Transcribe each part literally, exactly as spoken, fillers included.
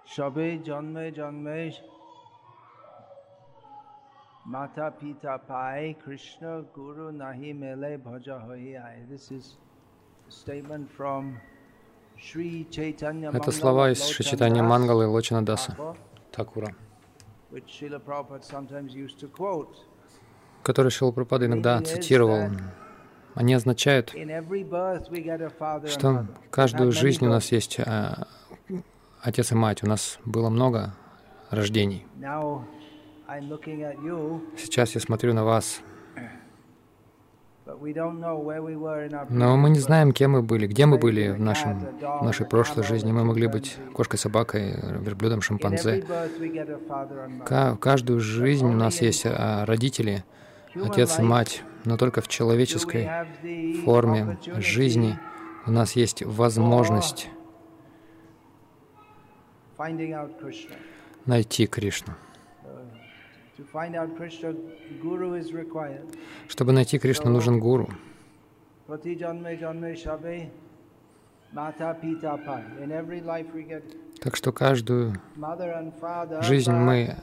Shabe janme janme mata pita pai Krishna guru nahi mele bhaja hohi ai. This is a statement from Shri Chaitanya Это Mangala слова из Шри Чайтанья Lochandas Мангалы Лочанадаса Thakur, Такура, which Srila Prabhupada sometimes used to quote. которые Шрила Прабхупада иногда Meaning is цитировал. that Они означают, in every birth we get a father and что mother. We've had каждую many жизнь у нас births. есть а, отец и мать. У нас было много рождений. Now I'm looking at you, Сейчас я смотрю на вас, but we don't know where we were in our но мы previous не birth. знаем, кем мы были, где мы Maybe были a в cat, нашем, a в dog, нашей a прошлой camel, жизни. a Мы могли быть chimpanzee. кошкой, собакой, верблюдом, In every шимпанзе. birth we get a father and mother. Ка- В каждую жизнь у нас есть а, родители, Human отец и life, мать, но только в do we человеческой have the форме жизни opportunity у нас есть for возможность finding out Krishna? найти Кришну. Uh, To find out Krishna, guru is required. Чтобы найти Кришну, нужен гуру. Prati janme janme shabe mata pita pai. In every life we get Так что каждую mother and father. жизнь but мы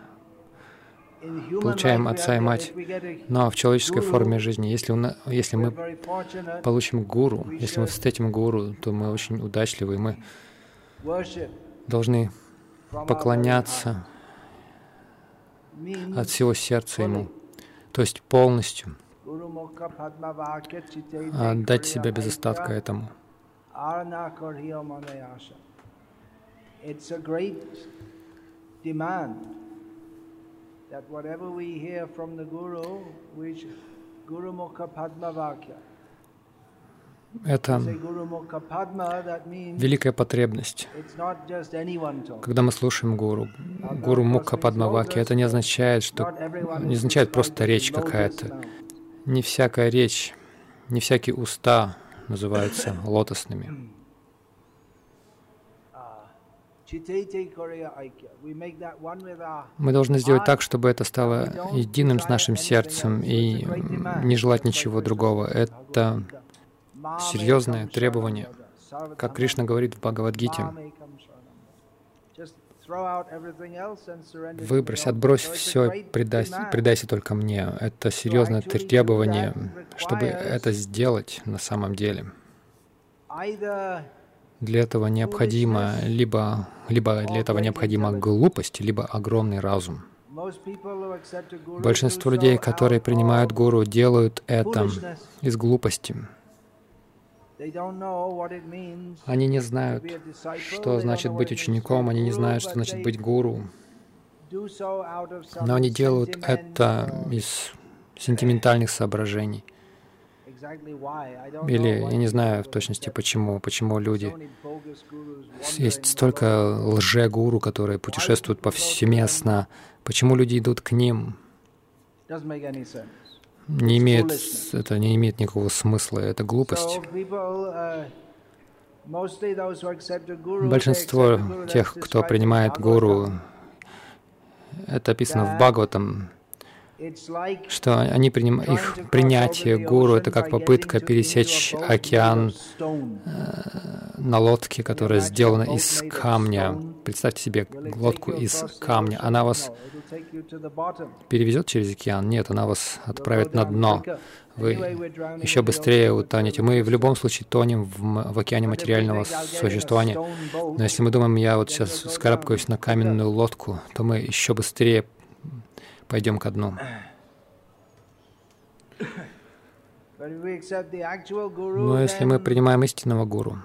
in human получаем life we отца и have- мать, if we get a но в человеческой guru, форме жизни. Если, у на- если we're мы very fortunate. получим гуру, We если мы should встретим гуру, то мы очень удачливы, и мы Worship должны from our very поклоняться heart. Means от всего сердца ему, то есть полностью Guru Mukha Padma Vakya Chite отдать Dekriya себя без остатка Aikya этому. Arna Korhiya Manayasha. It's a great demand that whatever we hear from the Guru, which Guru Mukha Padma Vakya. Это Say Guru Mukha Padma, that means великая потребность. it's not just anyone talking. Когда мы слушаем гуру, гуру Мукха Падмаваки, это не означает, что Not everyone не is означает просто described речь as lotus какая-то. now. Не всякая речь, не всякие уста называются лотосными. Chitete Korhiya Aikya. We make that one with our Мы должны сделать так, чтобы это стало единым с нашим сердцем и не желать ничего другого. Это серьезное требование, как Кришна говорит в Бхагавад-гите. Выбрось, отбрось все, предайся, предайся только мне. Это серьезное требование, чтобы это сделать на самом деле. Для этого необходимо либо, либо для этого необходима глупость, либо огромный разум. Большинство людей, которые принимают гуру, делают это из глупости. Они не знают, что значит быть учеником, они не знают, что значит быть гуру. Но они делают это из сентиментальных соображений. Или я не знаю в точности почему, почему люди... Есть столько лже-гуру, которые путешествуют повсеместно. Почему люди идут к ним? Не имеет, это не имеет никакого смысла, это глупость. Большинство тех, кто принимает гуру, это описано в Бхагаватам, что они приним... их принятие гуру — это как попытка пересечь океан э, на лодке, которая сделана из камня. Представьте себе лодку из камня. Она вас перевезет через океан? Нет, она вас отправит на дно. Вы еще быстрее утонете. Мы в любом случае тонем в, в океане материального существования. Но если мы думаем, я вот сейчас скарабкаюсь на каменную лодку, то мы еще быстрее пойдем ко дну. Но если мы принимаем истинного гуру,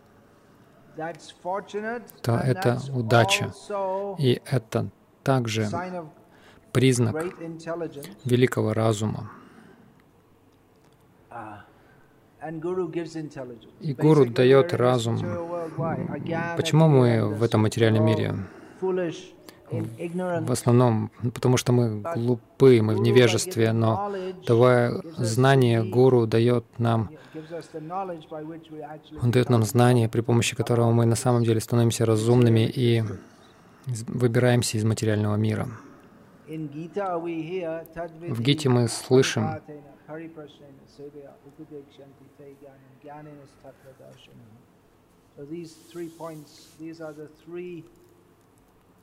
то это удача. И это также признак великого разума. И гуру дает разум. Почему мы в этом материальном мире? В основном, потому что мы глупы, мы в невежестве, но давая знание, гуру дает нам, он дает нам знание, при помощи которого мы на самом деле становимся разумными и выбираемся из материального мира. В Гите мы слышим,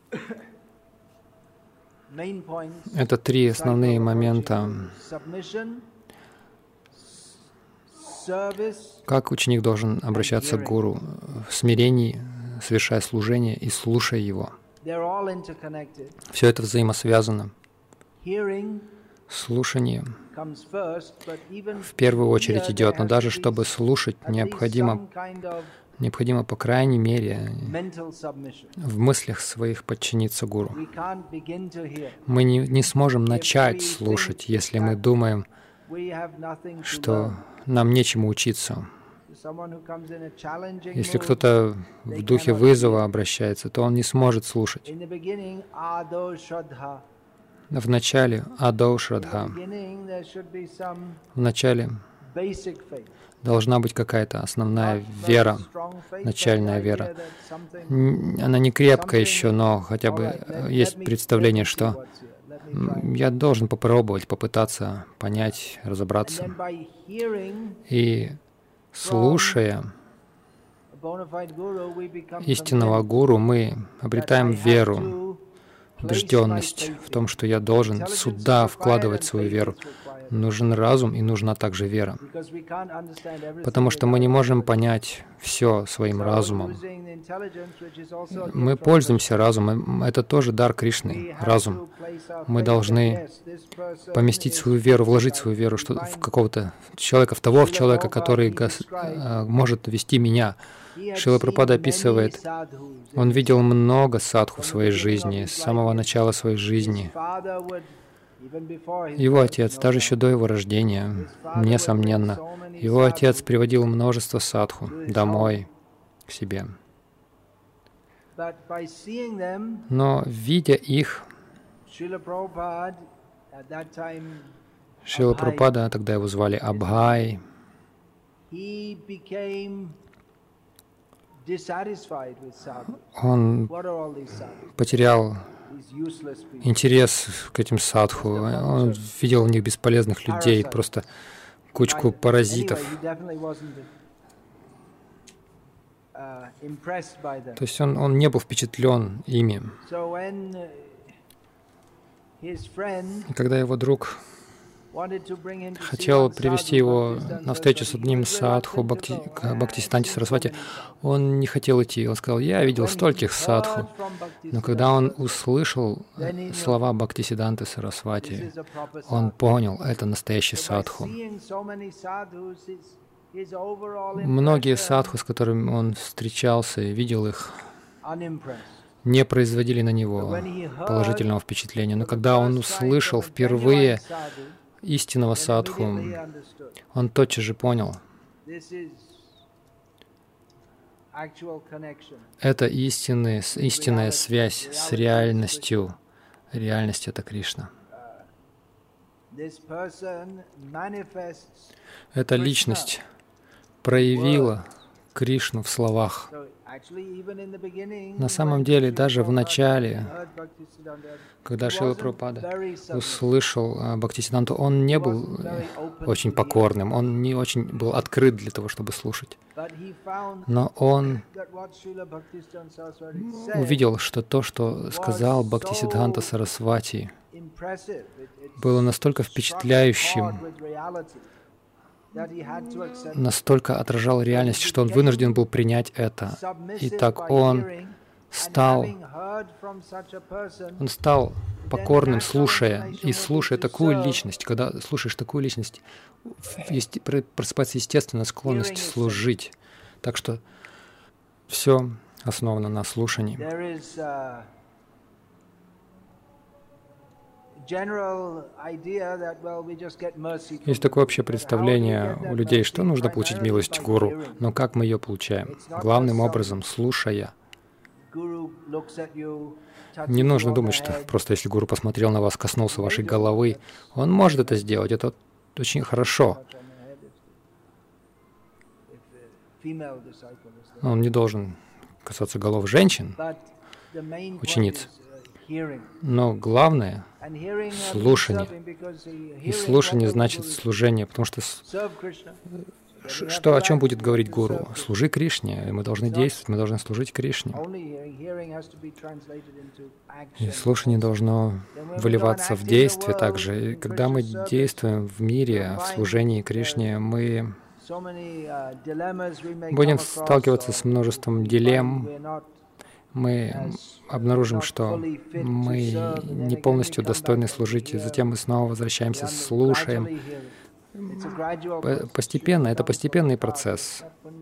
Это три основные момента. Как ученик должен обращаться к гуру в смирении, совершая служение и слушая его. Все это взаимосвязано. Слушание в первую очередь идет, но даже чтобы слушать, необходимо, необходимо по крайней мере в мыслях своих подчиниться гуру. Мы не, не сможем начать слушать, если мы думаем, что нам нечему учиться. Если кто-то в духе вызова обращается, то он не сможет слушать. В начале адо шрадха. В начале должна быть какая-то основная вера, начальная вера. Она не крепкая еще, но хотя бы есть представление, что я должен попробовать, попытаться понять, разобраться. И слушая истинного гуру, мы обретаем веру, убежденность в том, что я должен сюда вкладывать свою веру. Нужен разум и нужна также вера. Потому что мы не можем понять все своим разумом. Мы пользуемся разумом. Это тоже дар Кришны, разум. Мы должны поместить свою веру, вложить свою веру что в какого-то человека, в того человека, который может вести меня. Шрила Прабхупада описывает, он видел много садху в своей жизни, с самого начала своей жизни. Его отец, даже еще до его рождения, несомненно, его отец приводил множество садху домой, к себе. Но, видя их, Шрила Прабхупада, тогда его звали Абхай, он потерял интерес к этим садху. Он видел в них бесполезных людей, просто кучку паразитов. То есть он, он не был впечатлен ими. И когда его друг хотел привести его на встречу с одним садху, Бхакти, Бхактисиданти Сарасвати, он не хотел идти. Он сказал, я видел стольких садху. Но когда он услышал слова Бхактисиданты Сарасвати, он понял, это настоящий садху. Многие садху, с которыми он встречался и видел их, не производили на него положительного впечатления. Но когда он услышал впервые истинного садху, он тотчас же понял, это истинная, истинная связь с реальностью. Реальность — это Кришна. Эта личность проявила Кришну в словах. На самом деле, даже в начале, когда Шрила Прабхупада услышал Бхактисиданту, он не был очень покорным, он не очень был открыт для того, чтобы слушать. Но он увидел, что то, что сказал Бхактисиддханта Сарасвати, было настолько впечатляющим, настолько отражал реальность, что он вынужден был принять это. И так он стал, он стал покорным, слушая, и слушая такую личность. Когда слушаешь такую личность, есть, просыпается естественная склонность служить. Так что все основано на слушании. Есть такое общее представление у людей, что нужно получить милость гуру, но как мы ее получаем? Главным образом, слушая. Не нужно думать, что просто если гуру посмотрел на вас, коснулся вашей головы, он может это сделать, это очень хорошо. Он не должен касаться голов женщин, учениц. Но главное — слушание. И слушание значит служение, потому что что, о чем будет говорить гуру? Служи Кришне. Мы должны действовать, мы должны служить Кришне. И слушание должно выливаться в действие также. И когда мы действуем в мире, в служении Кришне, мы будем сталкиваться с множеством дилемм. Мы обнаружим, что мы не полностью достойны служить, и затем мы снова возвращаемся, слушаем. Постепенно, это постепенный процесс.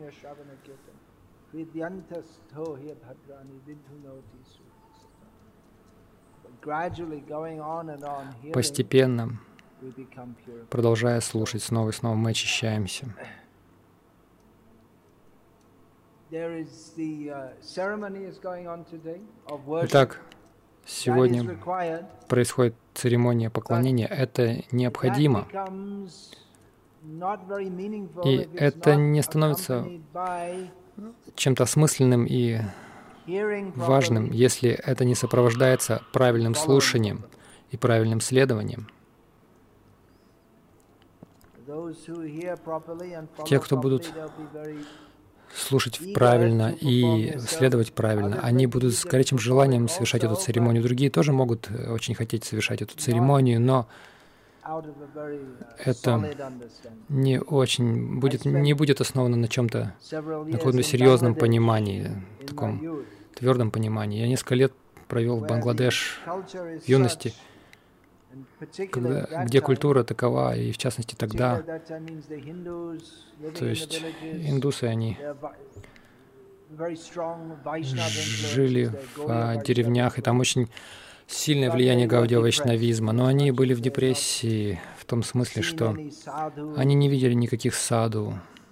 Постепенно, продолжая слушать снова и снова, мы очищаемся. Итак, сегодня происходит церемония поклонения. Это необходимо. И это не становится чем-то осмысленным и важным, если это не сопровождается правильным слушанием и правильным следованием. Те, кто будут слушать правильно и следовать правильно, они будут с горячим желанием совершать эту церемонию. Другие тоже могут очень хотеть совершать эту церемонию, но это не очень будет, не будет основано на чем-то, на каком-то серьезном понимании, таком твердом понимании. Я несколько лет провел в Бангладеш в юности, когда, где культура такова, и в частности тогда, то есть индусы, они жили в деревнях, и там очень сильное влияние гаудия-вайшнавизма, но они были в депрессии в том смысле, что они не видели никаких саду.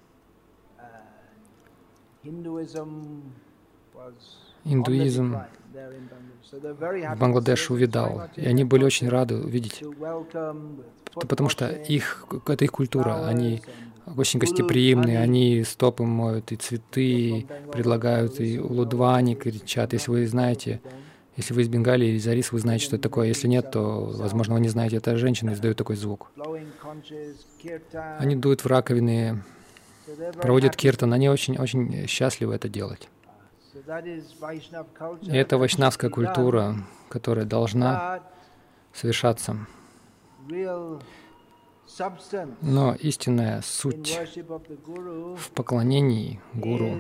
Индуизм в Бангладеше увядал, и они были очень рады увидеть, потому что их, это их культура, они очень гостеприимные, они стопы моют, и цветы предлагают, и улудвани кричат. Если вы знаете, если вы из Бенгалии или из Ориссы, вы знаете, что это такое. Если нет, то, возможно, вы не знаете. Это женщины издают такой звук. Они дуют в раковины, проводят киртан. Они очень-очень счастливы это делать. И это вайшнавская культура, которая должна совершаться. Но истинная суть в поклонении Гуру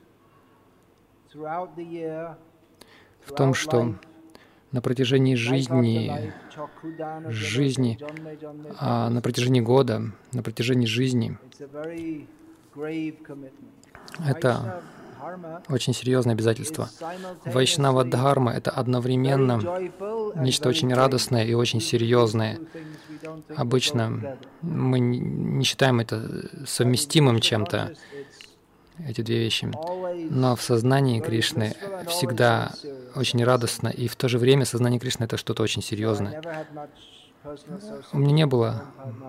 в том, что на протяжении жизни, жизни, а на протяжении года, на протяжении жизни, это очень серьезное обязательство. Вайшнава-дхарма — это одновременно нечто очень радостное и очень серьезное. Обычно мы не считаем это совместимым чем-то, эти две вещи. Но в сознании Кришны всегда очень радостно, и в то же время сознание Кришны — это что-то очень серьезное. У меня не было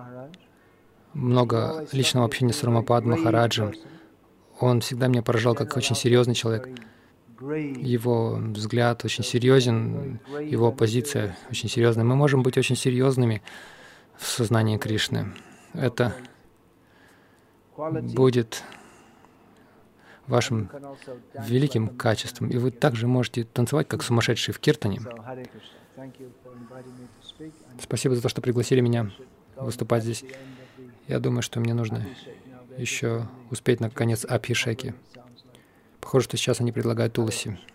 много личного общения с Рамапад Махараджем. Он всегда меня поражал как очень серьезный человек. Его взгляд очень серьезен, его позиция очень серьезная. Мы можем быть очень серьезными в сознании Кришны. Это будет вашим великим качеством. И вы также можете танцевать, как сумасшедшие в киртане. Спасибо за то, что пригласили меня выступать здесь. Я думаю, что мне нужно еще успеть на конец Абхишеки. Похоже, что сейчас они предлагают Туласи.